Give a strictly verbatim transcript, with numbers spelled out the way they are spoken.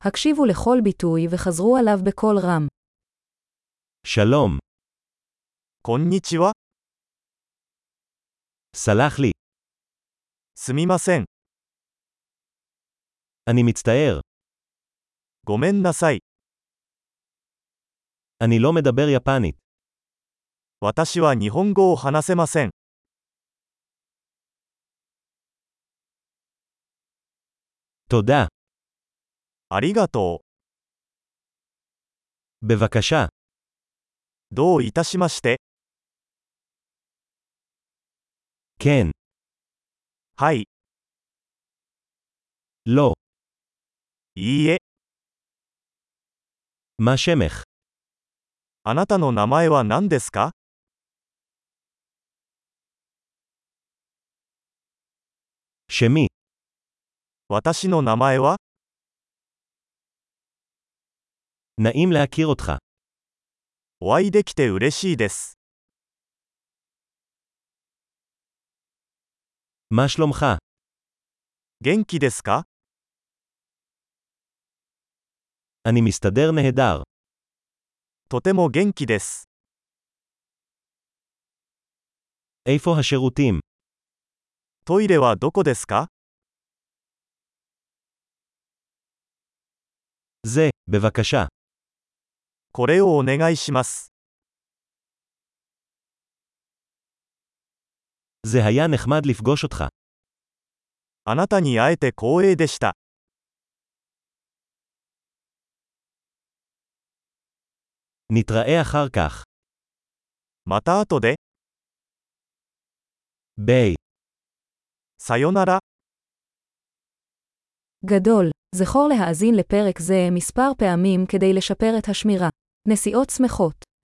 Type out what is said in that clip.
הקשיבו לכל ביטוי וחזרו עליו בקול רם. שלום. こんにちは。 סלח לי. すみません。 אני מצטער. ごめんなさい。 אני לא מדבר יפנית. 私は日本語を話せません。 תודה. ありがと בבקשה. う。どういたしまして。 כן. はい。 לא. いいえ。 מה שמך? あなたの名前は何ですか？ שמי. 私の名前は？ נעים להכיר אותך. お会いできて嬉しいです。 מה שלומך? 元気ですか？ אני מסתדר נהדר. とても元気です。 איפה השירותים? トイレはどこですか？ זה, בבקשה. これをお願いします。 זה היה נחמד לפגוש אותך. あなたに会えて光栄でした。 נתראה אחר כך. また後で。 ביי. さよなら。 גדול, זכור להאזין לפרק זה מספר פעמים כדי לשפר את השמירה. נסיעות שמחות.